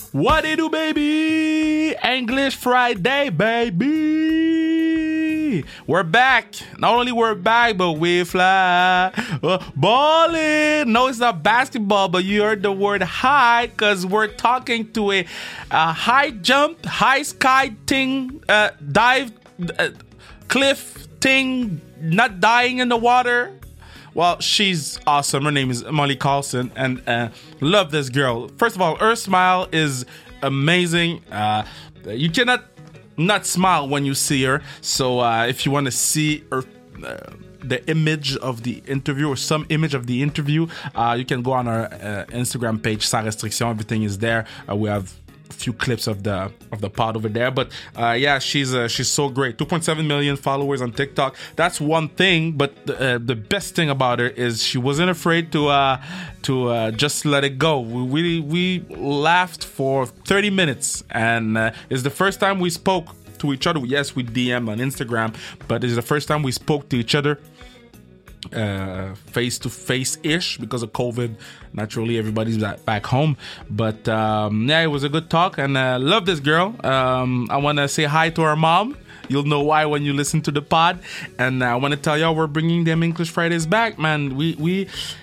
What it do, baby? English Friday, baby. We're back. Not only we're back, but we fly. Ballin'. No, it's not basketball, but you heard the word high because we're talking to a high jump, high sky thing, dive, cliff thing, not dying in the water. Well, she's awesome. Her name is Molly Carlson, and love this girl. First of all, her smile is amazing. You cannot not smile when you see her. So if you want to see her, the image of the interview or some image of the interview, you can go on our Instagram page, Sans Restriction. Everything is there. We have few clips of the pod over there, but yeah, she's so great. 2.7 million followers on TikTok. That's one thing, but the best thing about her is she wasn't afraid to just let it go. We laughed for 30 minutes, and it's the first time we spoke to each other. Yes, we DM on Instagram, but it's the first time we spoke to each other face to face ish because of COVID. Naturally, everybody's back home, but yeah, it was a good talk, and love this girl. I want to say hi to her mom. You'll know why when you listen to the pod. And I want to tell y'all we're bringing them English Fridays back, man. We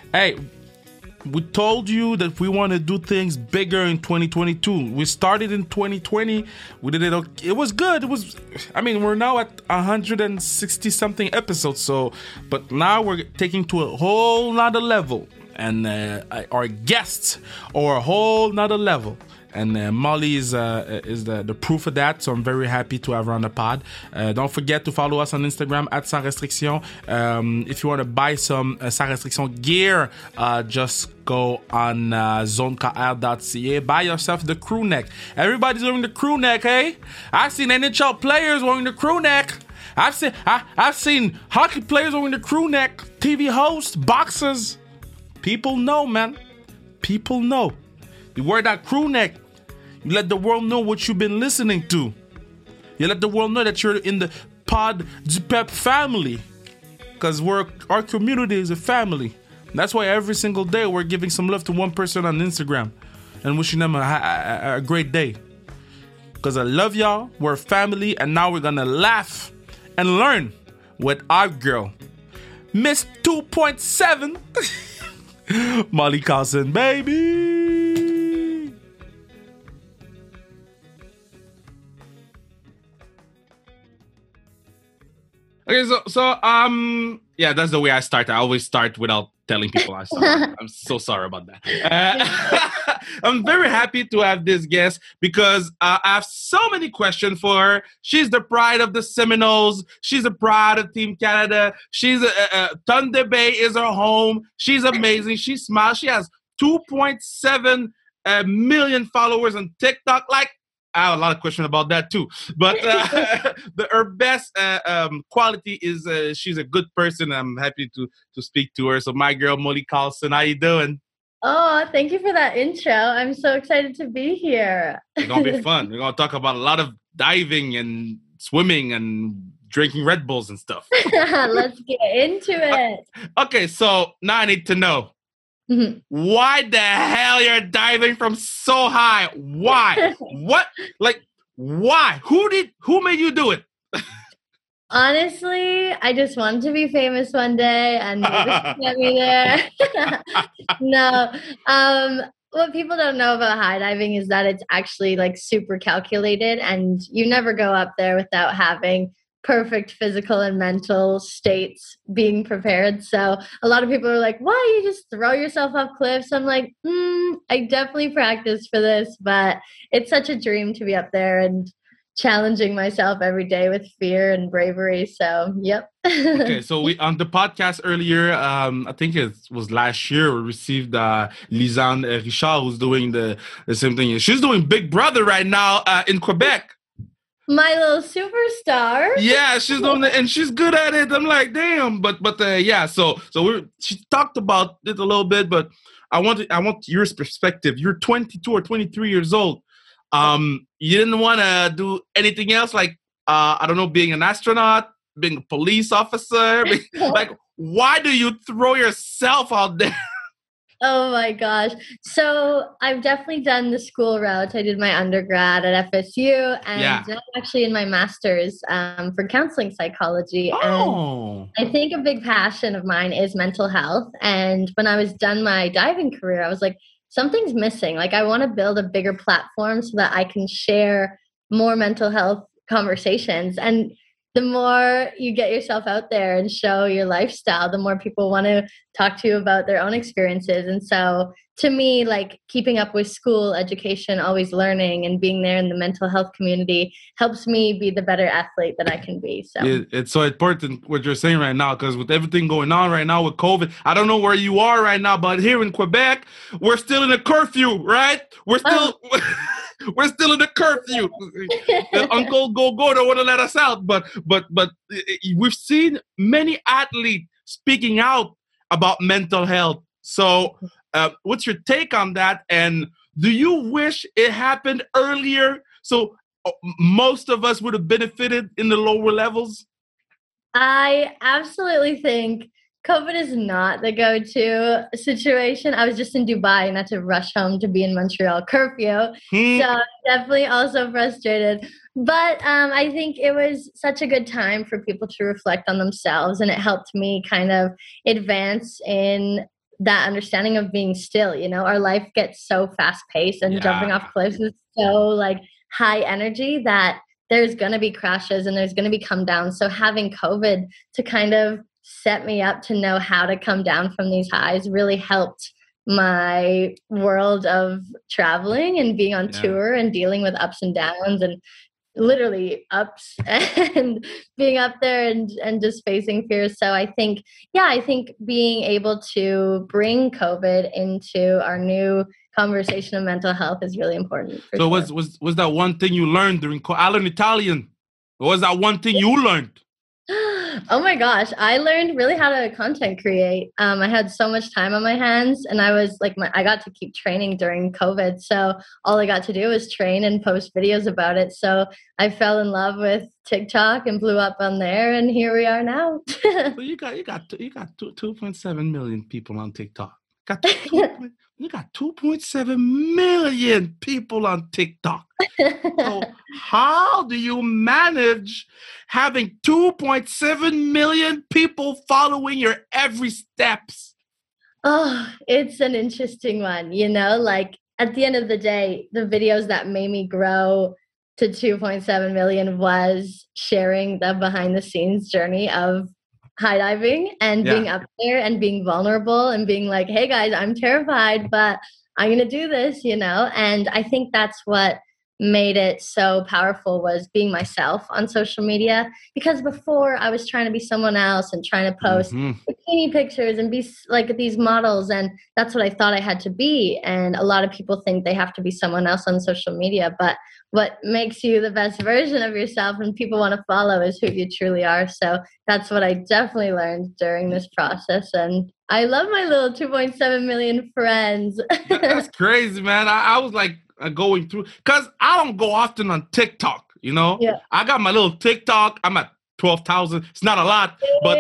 told you that we want to do things bigger in 2022. We started in 2020. We did it. It was good. We're now at 160 something episodes. So, but now we're taking to a whole nother level. And our guests are a whole nother level. And Molly is the proof of that. So I'm very happy to have her on the pod. Don't forget to follow us on Instagram at Sans Restriction. If you want to buy some Sans Restriction gear, just go on zonekr.ca. Buy yourself the crew neck. Everybody's wearing the crew neck, hey? I've seen NHL players wearing the crew neck. I've seen hockey players wearing the crew neck. TV hosts, boxers. People know, man. People know. You wear that crew neck. You let the world know what you've been listening to. You let the world know that you're in the Pod du Pep family. Because our community is a family. That's why every single day we're giving some love to one person on Instagram and wishing them a great day. Because I love y'all. We're a family. And now we're going to laugh and learn with our girl, Miss 2.7, Molly Carlson, baby. Okay, so yeah, that's the way I start. I always start without telling people I start. I'm so sorry about that. I'm very happy to have this guest because I have so many questions for her. She's the pride of the Seminoles. She's the pride of Team Canada. She's Thunder Bay is her home. She's amazing. She smiles. She has 2.7 million followers on TikTok. Like, I have a lot of questions about that too. But her best quality is she's a good person. I'm happy to speak to her. So my girl, Molly Carlson, how you doing? Oh, thank you for that intro. I'm so excited to be here. It's going to be fun. We're going to talk about a lot of diving and swimming and drinking Red Bulls and stuff. Let's get into it. Okay, so now I need to know. Mm-hmm. Why the hell you're diving from so high? Why? What? Like, why? Who made you do it? Honestly, I just wanted to be famous one day and this get me there. No. What people don't know about high diving is that it's actually like super calculated and you never go up there without having perfect physical and mental states being prepared. So a lot of people are like, why you just throw yourself off cliffs? I'm like, I definitely practiced for this, but it's such a dream to be up there and challenging myself every day with fear and bravery. So, yep. Okay, so we on the podcast earlier, I think it was last year, we received Lisanne Richard, who's doing the same thing. She's doing Big Brother right now in Quebec. My little superstar. Yeah, she's doing it, and she's good at it. I'm like, damn. But yeah. So she talked about it a little bit, but I want your perspective. You're 22 or 23 years old. You didn't want to do anything else, like I don't know, being an astronaut, being a police officer. Like, why do you throw yourself out there? Oh my gosh. So I've definitely done the school route. I did my undergrad at FSU, and Yeah. now I'm actually in my master's for counseling psychology. And Oh. I think a big passion of mine is mental health. And when I was done my diving career, I was like, something's missing. Like, I want to build a bigger platform so that I can share more mental health conversations. And the more you get yourself out there and show your lifestyle, the more people want to talk to you about their own experiences. And so, to me, like keeping up with school education, always learning, and being there in the mental health community helps me be the better athlete that I can be. So, It's so important what you're saying right now, because with everything going on right now with COVID, I don't know where you are right now, but here in Quebec, we're still in a curfew, right? We're oh, still we're still in a curfew. Uncle Go don't want to let us out, but we've seen many athletes speaking out about mental health. So, what's your take on that? And do you wish it happened earlier? So most of us would have benefited in the lower levels. I absolutely think COVID is not the go-to situation. I was just in Dubai and had to rush home to be in Montreal curfew. So Hmm. I'm definitely also frustrated. But I think it was such a good time for people to reflect on themselves, and it helped me kind of advance in that understanding of being still. You know, our life gets so fast-paced, and Yeah. jumping off cliffs is so like high energy that there's going to be crashes and there's going to be come down. So having COVID to kind of set me up to know how to come down from these highs really helped my world of traveling and being on Yeah. tour and dealing with ups and downs and literally ups and being up there and just facing fears. So I think, yeah, I think being able to bring COVID into our new conversation of mental health is really important for So sure. was that one thing you learned during? I learned Italian. What was that one thing you learned? Oh my gosh, I learned really how to content create. I had so much time on my hands, and I was like, I got to keep training during COVID. So all I got to do was train and post videos about it. So I fell in love with TikTok and blew up on there, and here we are now. So you got 2.7 million people on TikTok. Got two point, you got 2.7 million people on TikTok. So how do you manage having 2.7 million people following your every steps? Oh, it's an interesting one, you know, like at the end of the day, the videos that made me grow to 2.7 million was sharing the behind the scenes journey of high diving and Yeah. being up there and being vulnerable and being like, hey guys, I'm terrified, but I'm going to do this, you know? And I think that's what made it so powerful was being myself on social media, because before I was trying to be someone else and trying to post Mm-hmm. bikini pictures and be like these models, and that's what I thought I had to be. And a lot of people think they have to be someone else on social media, but what makes you the best version of yourself and people want to follow is who you truly are. So that's what I definitely learned during this process, and I love my little 2.7 million friends. That's crazy, man. I was like going through, because I don't go often on TikTok, you know? Yeah. I got my little TikTok. I'm at 12,000. It's not a lot, but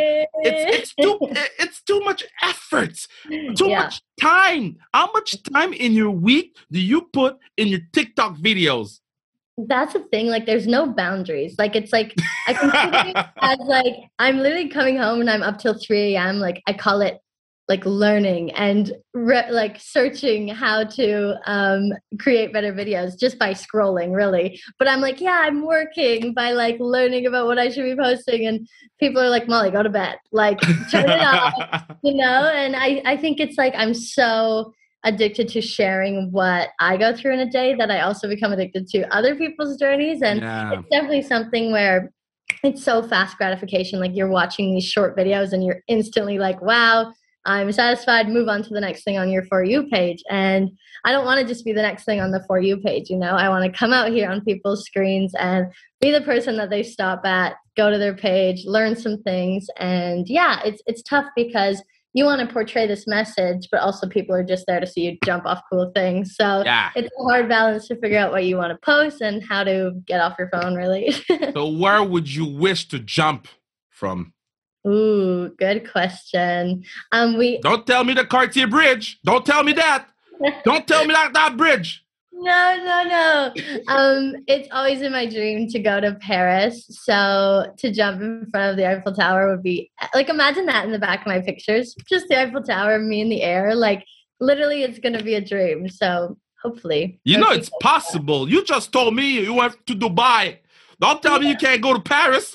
it's too much effort, too Yeah. much time. How much time in your week do you put in your TikTok videos? That's the thing, like, there's no boundaries. Like, it's like, I consider it as, like, I'm literally coming home and I'm up till 3 a.m., like, I call it, like, learning and, like, searching how to, create better videos just by scrolling, really. But I'm like, yeah, I'm working by, like, learning about what I should be posting, and people are like, "Molly, go to bed." Like, "Turn it off," you know? And I think it's like I'm so addicted to sharing what I go through in a day that I also become addicted to other people's journeys. And Yeah. it's definitely something where it's so fast gratification. Like, you're watching these short videos and you're instantly like, wow, I'm satisfied, move on to the next thing on your For You page. And I don't want to just be the next thing on the For You page, you know? I want to come out here on people's screens and be the person that they stop at, go to their page, learn some things. And yeah, it's tough because you want to portray this message, but also people are just there to see you jump off cool things. So Yeah. it's a hard balance to figure out what you want to post and how to get off your phone, really. So where would you wish to jump from? Ooh, good question. We Don't tell me the Cartier Bridge. Don't tell me that. Don't tell me that bridge. no. It's always in my dream to go to Paris. So to jump in front of the Eiffel Tower would be like, imagine that in the back of my pictures, just the Eiffel Tower, me in the air. Like literally, it's gonna be a dream. So hopefully, You know it's possible. You just told me you went to Dubai. Don't tell me you can't go to Paris.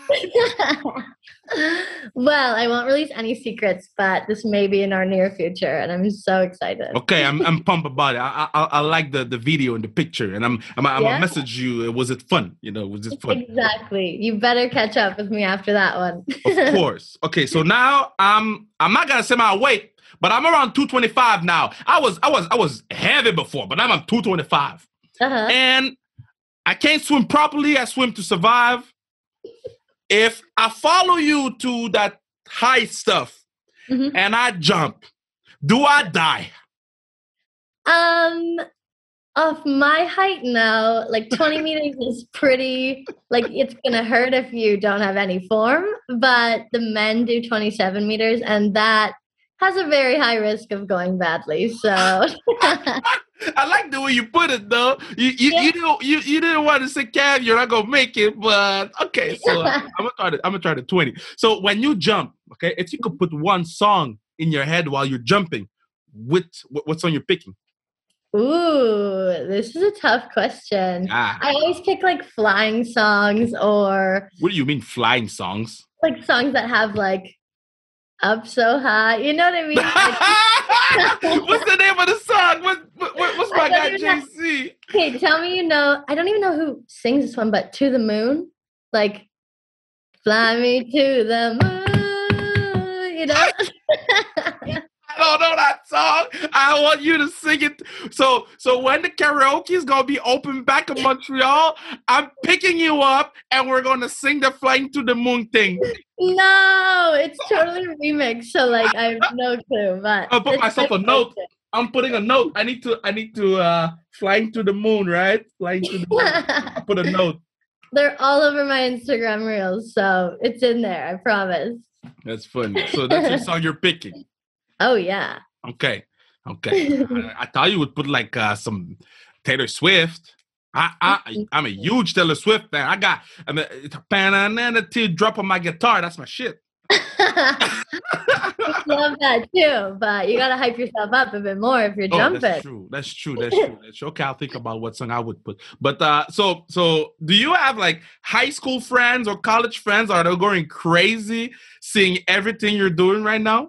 Well, I won't release any secrets, but this may be in our near future, and I'm so excited. Okay, I'm pumped about it. I like the video and the picture, and I'm gonna message you. Was it fun? Was it fun? Exactly. You better catch up with me after that one. Of course. Okay, so now I'm not gonna say my weight, but I'm around 225 now. I was heavy before, but I'm 225, and I can't swim properly. I swim to survive. If I follow you to that high stuff and I jump, do I die? Of my height, no. Like 20 meters is pretty, like it's gonna hurt if you don't have any form, but the men do 27 meters and that has a very high risk of going badly, so. I like the way you put it, though. You didn't want to say, Cav, you're not gonna make it, but okay. So I'm gonna try the 20. So when you jump, okay, if you could put one song in your head while you're jumping, what song you're picking? Ooh, this is a tough question. I always pick like flying songs or. What do you mean flying songs? Like songs that have like up so high. You know what I mean? Like, what's the name of the song? What's my guy JC? Okay, tell me I don't even know who sings this one, but To the Moon. Like, fly me to the moon, I don't know that song. I want you to sing it. So when the karaoke is going to be open back in Montreal, I'm picking you up and we're going to sing the Flying to the Moon thing. No, it's totally a remix. So like, I have no clue, but I'll put myself a note. I'm putting a note. I need to Flying to the Moon, right? Flying to the Moon. I'll put a note. They're all over my Instagram reels. So it's in there. I promise. That's funny. So that's your song you're picking. Oh, yeah. Okay. I thought you would put like some Taylor Swift. I'm a huge Taylor Swift fan. I'm a teardrop on my guitar. That's my shit. I love that too, but you gotta hype yourself up a bit more if you're jumping. That's true. Okay, I'll think about what song I would put. But so do you have like high school friends or college friends? Are they going crazy seeing everything you're doing right now?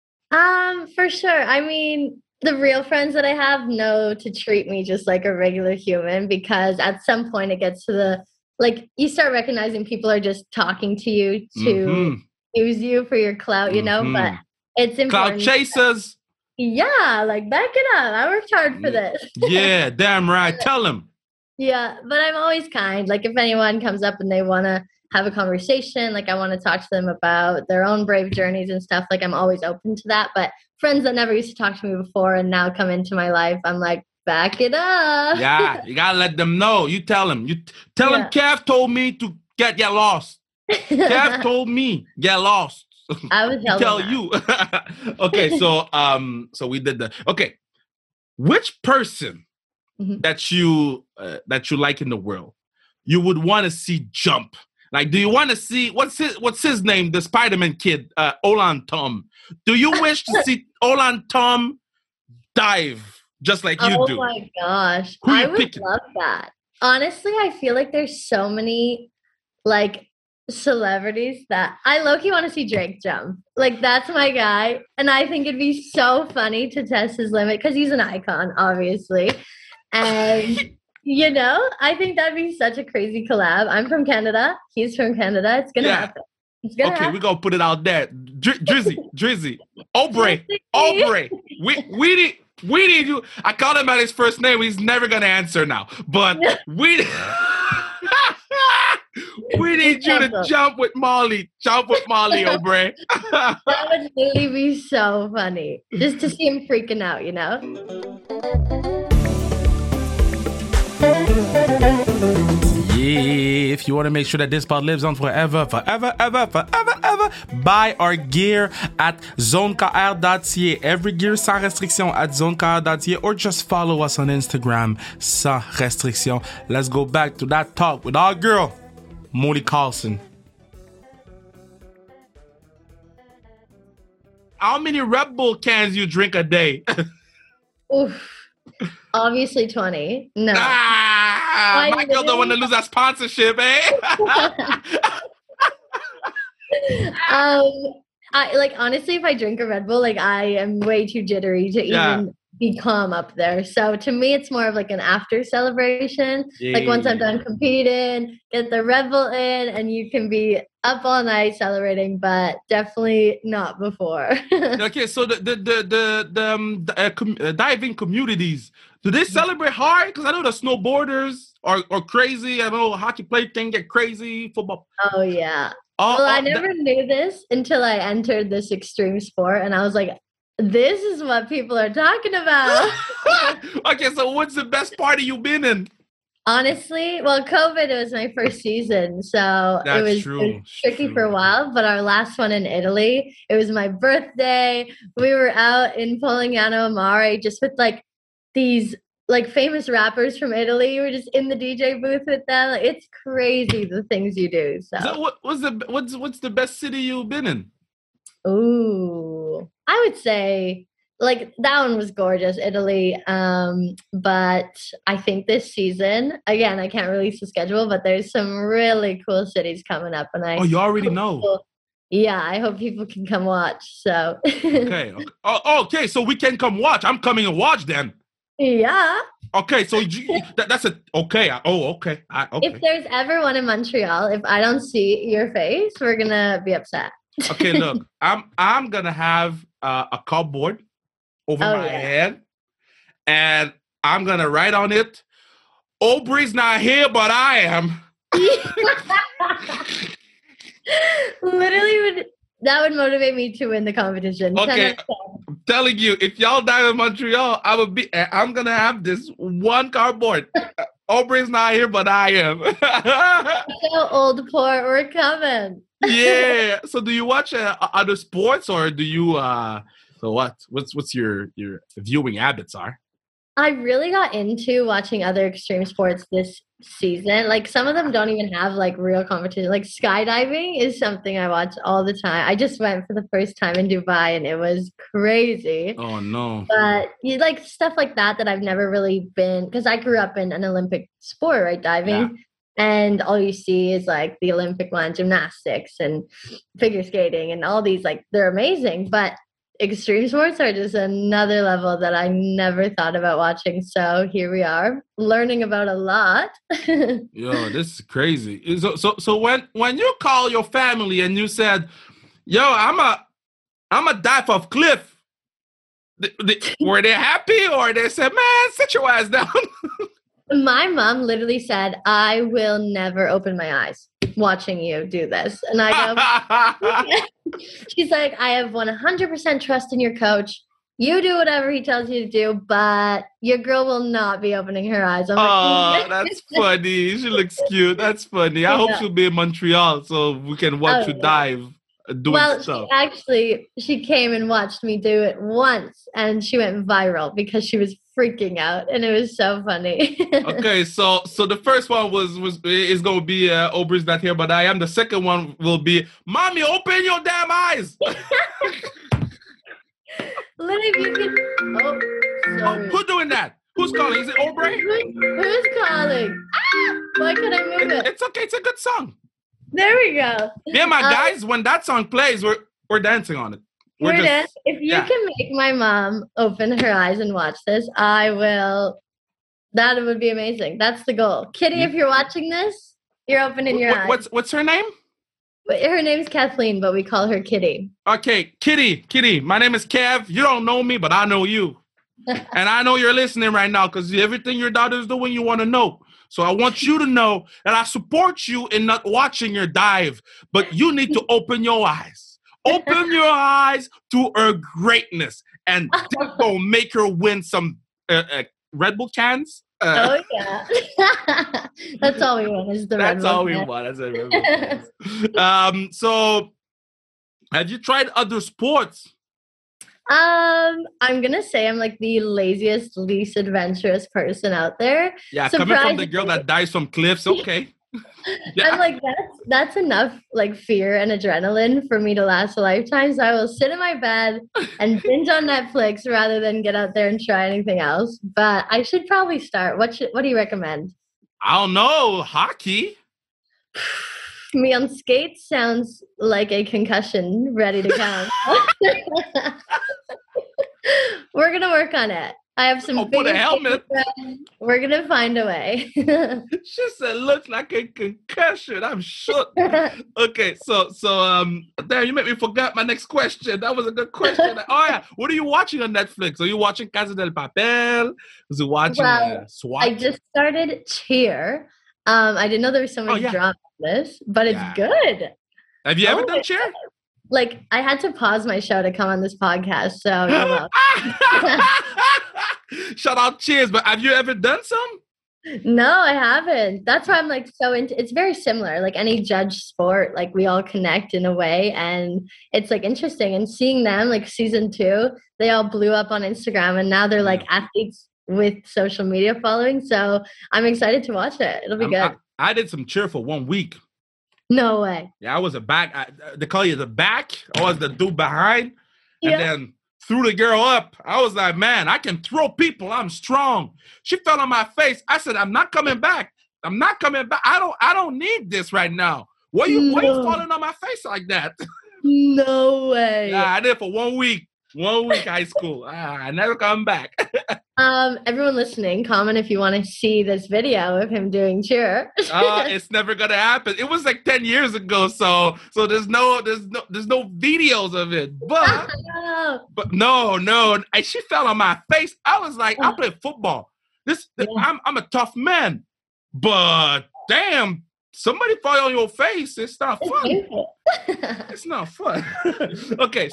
For sure. I mean, the real friends that I have know to treat me just like a regular human because at some point it gets to the, like, you start recognizing people are just talking to you to use you for your clout, but it's important. Clout chasers. Yeah, like, back it up. I worked hard for this. Yeah, damn right. Tell them. Yeah, but I'm always kind. Like, if anyone comes up and they want to have a conversation, like I want to talk to them about their own brave journeys and stuff, like I'm always open to that. But friends that never used to talk to me before and now come into my life, I'm like, back it up. Yeah, you gotta let them know. You tell them. Tell them Kev told me to get lost. Kev told me get lost. I was tell you. Okay, so we did that. Okay, which person that you like in the world you would want to see jump? Like, do you want to see what's his name? The Spider-Man kid, Olan Tom. Do you wish to see Olan Tom dive just like you do? Oh my gosh, I would love that. Honestly, I feel like there's so many like celebrities that I low-key want to see Drake jump. Like, that's my guy, and I think it'd be so funny to test his limit because he's an icon, obviously, and. I think that'd be such a crazy collab. I'm from Canada. He's from Canada. It's going to happen. Okay, we're going to put it out there. Drizzy. Aubrey. We need you. I called him by his first name. He's never going to answer now. But we need you to jump with Molly. Aubrey. That would really be so funny. Just to see him freaking out, Yeah, if you want to make sure that this pod lives on forever, buy our gear at zonekr.ca. Every gear sans restriction at zonekr.ca, or just follow us on Instagram sans restriction. Let's go back to that talk with our girl, Molly Carlson. How many Red Bull cans you drink a day? Oof. Obviously 20. No. My girl don't want to lose that sponsorship, eh? Honestly, if I drink a Red Bull, I am way too jittery to even be calm up there. So to me, it's more of an after celebration. Once I'm done competing, get the Red Bull in, and you can be up all night celebrating, but definitely not before. Okay, so the diving communities, do they celebrate hard? Because I know the snowboarders are crazy. I know hockey players can get crazy. Football. Oh yeah. I never knew this until I entered this extreme sport, and I was like, this is what people are talking about. Okay, so what's the best party you've been in? Honestly, COVID was my first season, so it was tricky for a while. But our last one in Italy, it was my birthday. We were out in Polignano Amare just with these famous rappers from Italy. We were just in the DJ booth with them. It's crazy the things you do. So what's the best city you've been in? Ooh, I would say that one was gorgeous, Italy. But I think this season, again, I can't release the schedule, but there's some really cool cities coming up, and you already know. Yeah, I hope people can come watch. So okay. Okay, so we can come watch. I'm coming and watch then. Yeah. Okay, so that's a okay. Okay. If there's ever one in Montreal, if I don't see your face, we're gonna be upset. Okay, look, I'm gonna have a cardboard over my head, and I'm gonna write on it, Aubrey's not here, but I am. Literally, that would motivate me to win the competition. Okay, I'm telling you, if y'all dive in Montreal, I'm gonna have this one cardboard. Aubrey's not here, but I am. So old port, we're coming. Yeah. So, do you watch other sports, or do you? So what's your viewing habits are? I really got into watching other extreme sports this season. Some of them don't even have real competition. Skydiving is something I watch all the time. I just went for the first time in Dubai, and it was crazy. Oh no. But you stuff like that I've never really been, because I grew up in an Olympic sport, right? Diving. Yeah. And all you see is the Olympic one, gymnastics and figure skating and all these, they're amazing, but extreme sports are just another level that I never thought about watching. So here we are, learning about a lot. Yo, this is crazy. So when you call your family and you said, "Yo, I'm a dive off cliff," were they happy, or they said, "Man, sit your ass down"? My mom literally said, "I will never open my eyes watching you do this." And I go, she's like, "I have 100% trust in your coach. You do whatever he tells you to do, but your girl will not be opening her eyes." I'm that's funny. She looks cute. That's funny. I hope she'll be in Montreal so we can watch you dive. Stuff. She came and watched me do it once, and she went viral because she was freaking out, and it was so funny. Okay, so the first one is going to be Aubrey's not here, but I am. The second one will be, "Mommy, open your damn eyes." Who's doing that? Who's calling? Is it Aubrey? Who's calling? Why can't I move it? It's okay. It's a good song. There we go. Yeah, my guys, when that song plays, we're dancing on it. If you can make my mom open her eyes and watch this, I will. That would be amazing. That's the goal. Kitty, if you're watching this, you're opening your eyes. What's her name? Her name's Kathleen, but we call her Kitty. Okay, Kitty. My name is Kev. You don't know me, but I know you. And I know you're listening right now, because everything your daughter's doing, you want to know. So I want you to know that I support you in not watching your dive, but you need to open your eyes. Open your eyes to her greatness, and that's going to make her win some Red Bull cans Oh yeah. That's all we want is the Red That's Bull all we fans. want. That's a Red Bull fans. So have you tried other sports? I'm gonna say I'm like the laziest, least adventurous person out there. Yeah, coming from the girl Surprisingly, that dies from cliffs. Okay. I'm Yeah. like that's enough like fear and adrenaline for me to last a lifetime. So I will sit in my bed and binge on Netflix rather than get out there and try anything else. But I should probably start. What do you recommend? I don't know. Hockey. Me on skates sounds like a concussion ready to count. We're gonna work on it. I have some Oh, put a figure skating helmet. friends. We're gonna find a way. She said, looks like a concussion. I'm shook. Okay, damn, you made me forget my next question. That was a good question. Oh yeah, what are you watching on Netflix? Are you watching Casa del Papel? Was you watching Well, SWAT? I just started Cheer. I didn't know there was so Oh much yeah, drama in this, but it's yeah. good. Have you ever Oh done my cheer? Like I had to pause my show to come on this podcast, so you're welcome. Shout out Cheers, but have you ever done some? No, I haven't. That's why I'm like so into it's very similar. Like any judge sport, like we all connect in a way and it's like interesting. And seeing them like season 2, they all blew up on Instagram and now they're like athletes with social media following. So I'm excited to watch it. It'll be good. I did some cheer for 1 week. No way. Yeah, I was a back. They call you the back. I was the dude behind. And then threw the girl up. I was like, man, I can throw people. I'm strong. She fell on my face. I said, I'm not coming back. I'm not coming back. I don't need this right now. Why you falling on my face like that? No way. Yeah, I did it for 1 week. 1 week high school. I never come back. Everyone listening, comment if you want to see this video of him doing cheer. It's never gonna happen. It was like 10 years ago, so there's no videos of it. But no, and she fell on my face. I was like, I play football. I'm a tough man, but damn, somebody fall on your face. It's not fun. It's not fun. Okay,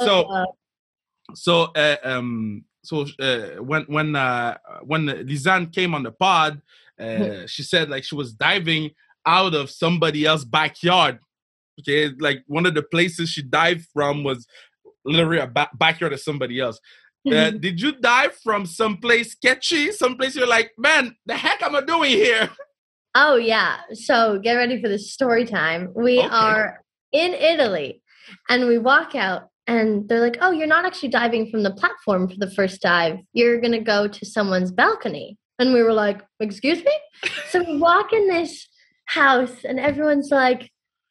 when Lisanne came on the pod, she said like she was diving out of somebody else's backyard. Okay, like one of the places she dived from was literally a backyard of somebody else. Did you dive from someplace sketchy? Someplace you're like, man, the heck am I doing here? Oh yeah. So get ready for the story time. We are in Italy and we walk out. And they're like, oh, you're not actually diving from the platform for the first dive. You're going to go to someone's balcony. And we were like, excuse me? So we walk in this house and everyone's like,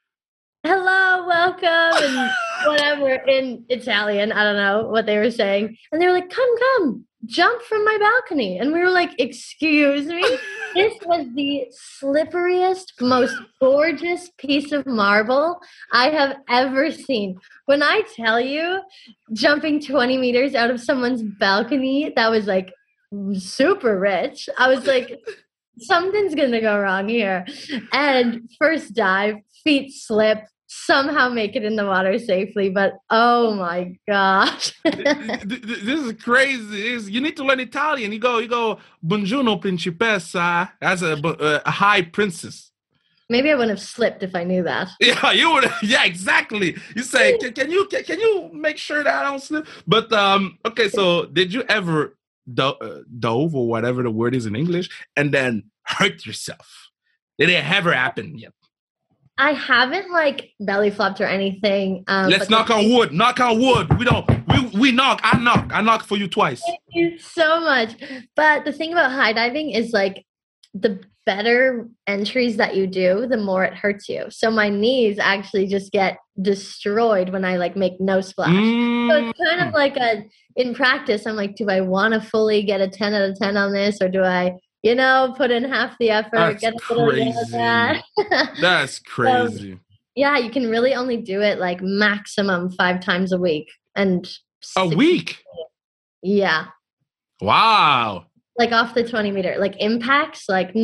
hello, welcome, and whatever in Italian. I don't know what they were saying. And they were like, come, jump from my balcony. And we were like, excuse me? This was the slipperiest, most gorgeous piece of marble I have ever seen. When I tell you, jumping 20 meters out of someone's balcony, that was like super rich. I was like, something's going to go wrong here. And first dive, feet slip, somehow make it in the water safely, but oh my gosh. This is crazy. You need to learn Italian. You go buongiorno principessa as a high princess. Maybe I wouldn't have slipped if I knew that. Yeah, you would. Yeah, exactly. You say, can you make sure that I don't slip? But okay, so did you ever dove or whatever the word is in English and then hurt yourself? Did it ever happen yet? I haven't like belly flopped or anything. Let's knock on wood. Knock on wood. We knock. I knock for you twice. Thank you so much. But the thing about high diving is like the better entries that you do, the more it hurts you. So my knees actually just get destroyed when I like make no splash. So it's kind of like in practice, I'm like, do I want to fully get a 10 out of 10 on this, or do I, put in half the effort, That's get a little bit of that? That's crazy. So, yeah, you can really only do it like maximum 5 times a week. And a week? Yeah. Wow. Like off the 20 meter, like impacts, like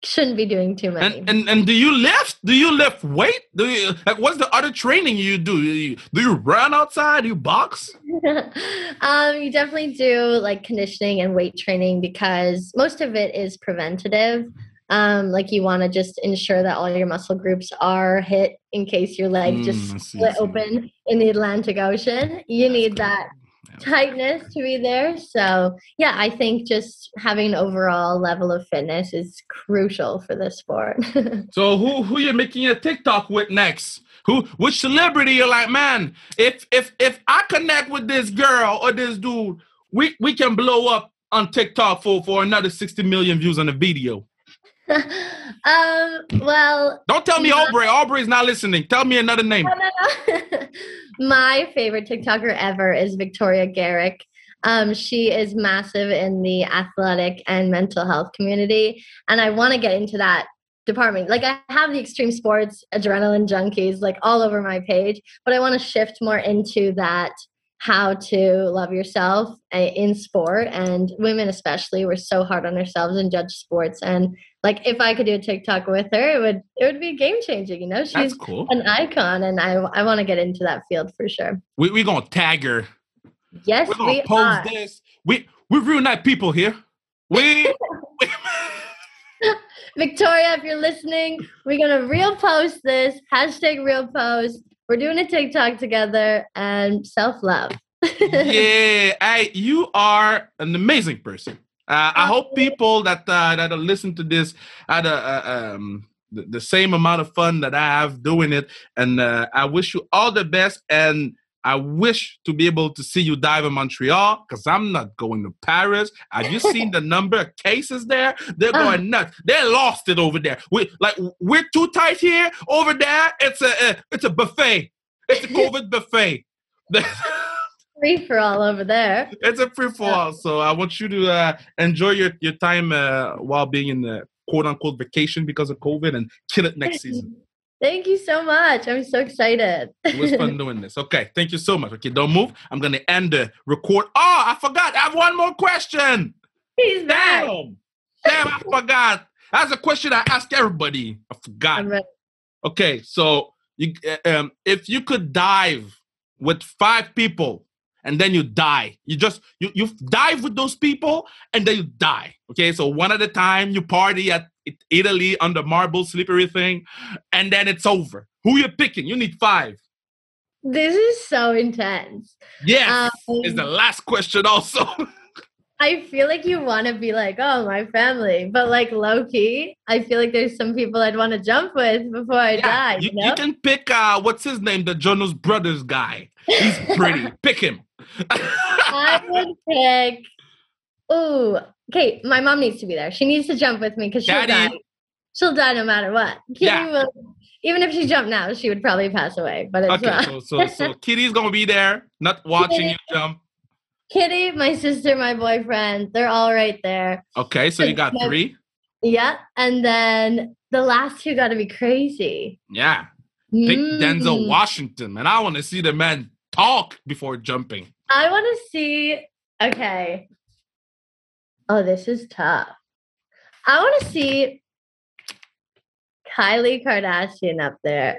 shouldn't be doing too many. And do you lift? Do you lift weight? Do you like what's the other training you do? Do you run outside? Do you box? You definitely do like conditioning and weight training because most of it is preventative. Like you want to just ensure that all your muscle groups are hit in case your leg just split open in the Atlantic Ocean. You need that tightness to be there. So yeah, I think just having an overall level of fitness is crucial for this sport. So who you're making a TikTok with next? Which celebrity you're like, man, if I connect with this girl or this dude, we can blow up on TikTok for another 60 million views on the video. Well, don't tell me Aubrey. Aubrey's not listening. Tell me another name. No. My favorite TikToker ever is Victoria Garrick. She is massive in the athletic and mental health community, and I want to get into that department. Like I have the extreme sports adrenaline junkies like all over my page, but I want to shift more into that how to love yourself in sport, and women especially, we're so hard on ourselves and judge sports. And like if I could do a TikTok with her, it would be game changing. You know, she's cool. An icon, and I want to get into that field for sure. We're gonna tag her. Yes, we're gonna post this. We're real nice people here. Victoria, if you're listening, we're gonna real post this #real post. We're doing a TikTok together and self-love. Yeah, you are an amazing person. I hope people that listen to this had the same amount of fun that I have doing it. And I wish you all the best. And I wish to be able to see you dive in Montreal because I'm not going to Paris. Have you seen the number of cases there? They're going nuts. They lost it over there. We're too tight here. Over there, it's a buffet. It's a COVID buffet. Free for all over there. It's a free for all. So I want you to enjoy your time while being in the quote unquote vacation because of COVID and kill it next season. Thank you so much. I'm so excited. It was fun doing this. Okay, thank you so much. Okay, don't move. I'm going to end the record. Oh, I forgot. I have one more question. He's back. Damn, I forgot. That's a question I ask everybody. I forgot. Okay, so if you could dive with 5 people and then you die, you dive with those people and then you die. Okay, so one at a time, you party at Italy on the marble slippery thing, and then it's over. Who you picking? You need 5. This is so intense. Yes, is the last question also. I feel like you want to be like, oh, my family. But like low key, I feel like there's some people I'd want to jump with before I die. You can pick, what's his name? The Jonas Brothers guy. He's pretty. Pick him. I would pick, okay, my mom needs to be there. She needs to jump with me because she'll die. She'll die no matter what. Kitty will, even if she jumped now, she would probably pass away. But it's okay, so Kitty's going to be there, not watching you jump. Kitty, my sister, my boyfriend, they're all right there. Okay, so you got 3? Yeah, and then the last 2 got to be crazy. Yeah. Pick Denzel Washington, and I want to see the man talk before jumping. I want to see, okay. Oh, this is tough. I want to see Kylie Kardashian up there.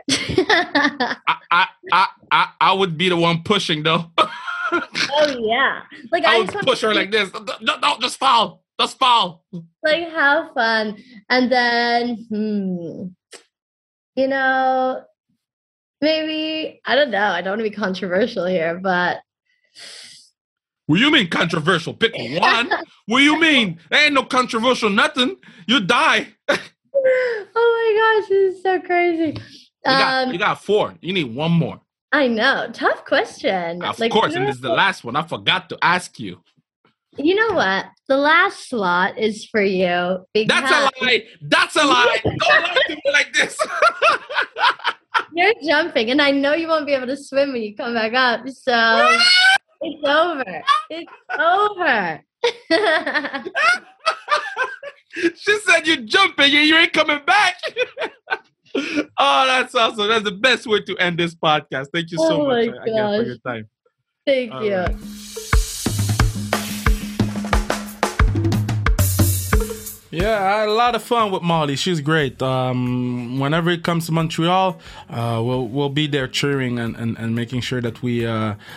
I would be the one pushing though. Oh yeah, like I would push her like this. Don't just fall. Just fall. Like how fun. And then, you know, maybe I don't know. I don't want to be controversial here, but. What do you mean controversial? Pick one. What do you mean? There ain't no controversial nothing. You die. Oh my gosh, this is so crazy. You got 4. You need one more. I know. Tough question. Of course, and this is the last one. I forgot to ask you. You know what? The last slot is for you. That's a lie. That's a lie. Don't lie to me like this. You're jumping, and I know you won't be able to swim when you come back up. So it's over. It's over. She said you're jumping and you ain't coming back. Oh, that's awesome. That's the best way to end this podcast. Thank you so much again for your time. Thank you. Right. Yeah, I had a lot of fun with Molly. She's great. Whenever it comes to Montreal, we'll be there cheering and making sure that we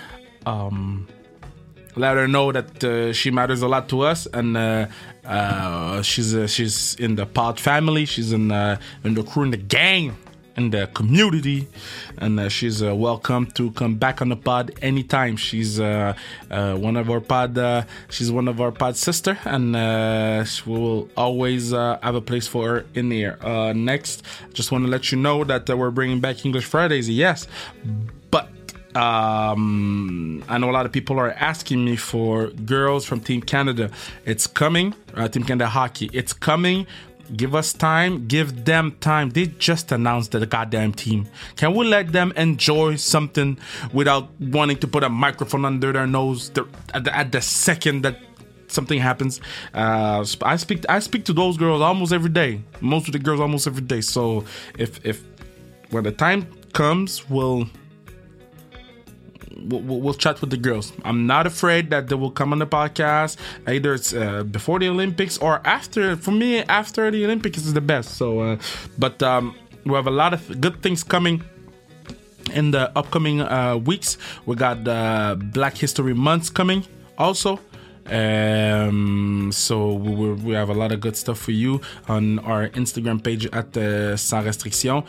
let her know that she matters a lot to us, and she's in the pod family. She's in the crew, in the gang, in the community, and she's welcome to come back on the pod anytime. She's one of our pod. She's one of our pod sister, and we will always have a place for her in here. Next, just want to let you know that we're bringing back English Fridays. Yes, but I know a lot of people are asking me for girls from Team Canada. It's coming. Team Canada Hockey. It's coming. Give us time. Give them time. They just announced the goddamn team. Can we let them enjoy something without wanting to put a microphone under their nose at the second that something happens? I speak to those girls almost every day. Most of the girls almost every day. So if when the time comes, we'll chat with the girls. I'm not afraid that they will come on the podcast. Either it's before the Olympics or after. For me, after the Olympics is the best. So, but we have a lot of good things coming in the upcoming weeks. We got Black History Month coming also. So we have a lot of good stuff for you on our Instagram page at Sans Restriction.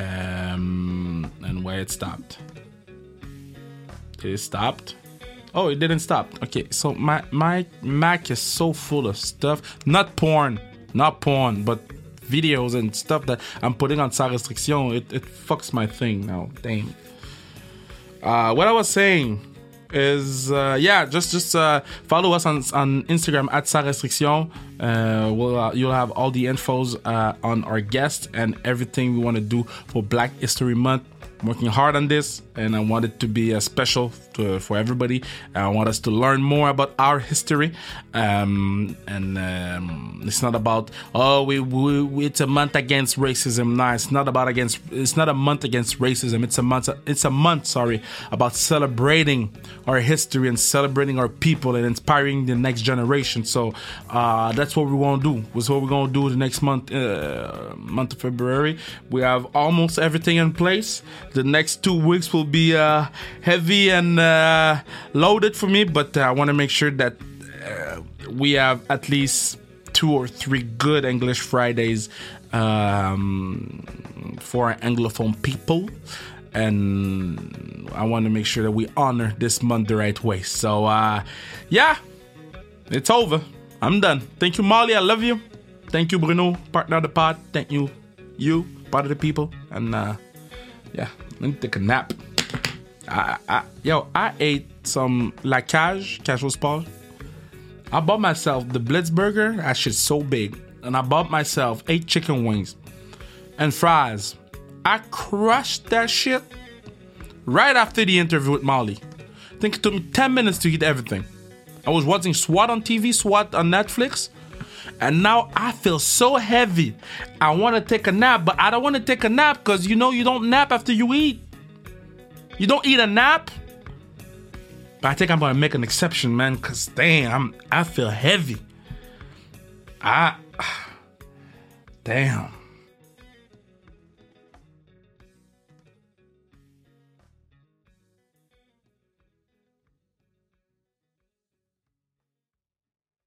And where it stopped. It stopped. Oh, it didn't stop. Okay, so my Mac is so full of stuff. Not porn, but videos and stuff that I'm putting on Sans Restriction. It fucks my thing now. Dang. What I was saying is, just follow us on Instagram at Sans Restriction. You'll have all the infos on our guests and everything we want to do for Black History Month. I'm working hard on this, and I want it to be special for everybody. I want us to learn more about our history, and it's not about it's a month against racism. No, it's not a month against racism. It's a month about celebrating our history and celebrating our people and inspiring the next generation. So that's what we want to do. That's what we're gonna do the next month, month of February. We have almost everything in place. The next 2 weeks will be heavy and loaded for me, but I want to make sure that we have at least 2 or 3 good English Fridays for our Anglophone people. And I want to make sure that we honor this month the right way. So, it's over. I'm done. Thank you, Molly. I love you. Thank you, Bruno, partner of the pod. Thank you, part of the people. And, let me take a nap. I ate some La Cage au Sport. I bought myself the Blitzburger. That shit's so big. And I bought myself 8 chicken wings and fries. I crushed that shit right after the interview with Molly. I think it took me 10 minutes to eat everything. I was watching SWAT on TV, SWAT on Netflix. And now I feel so heavy. I want to take a nap, but I don't want to take a nap because you don't nap after you eat. You don't eat a nap. But I think I'm going to make an exception, man, because damn, I feel heavy. Damn.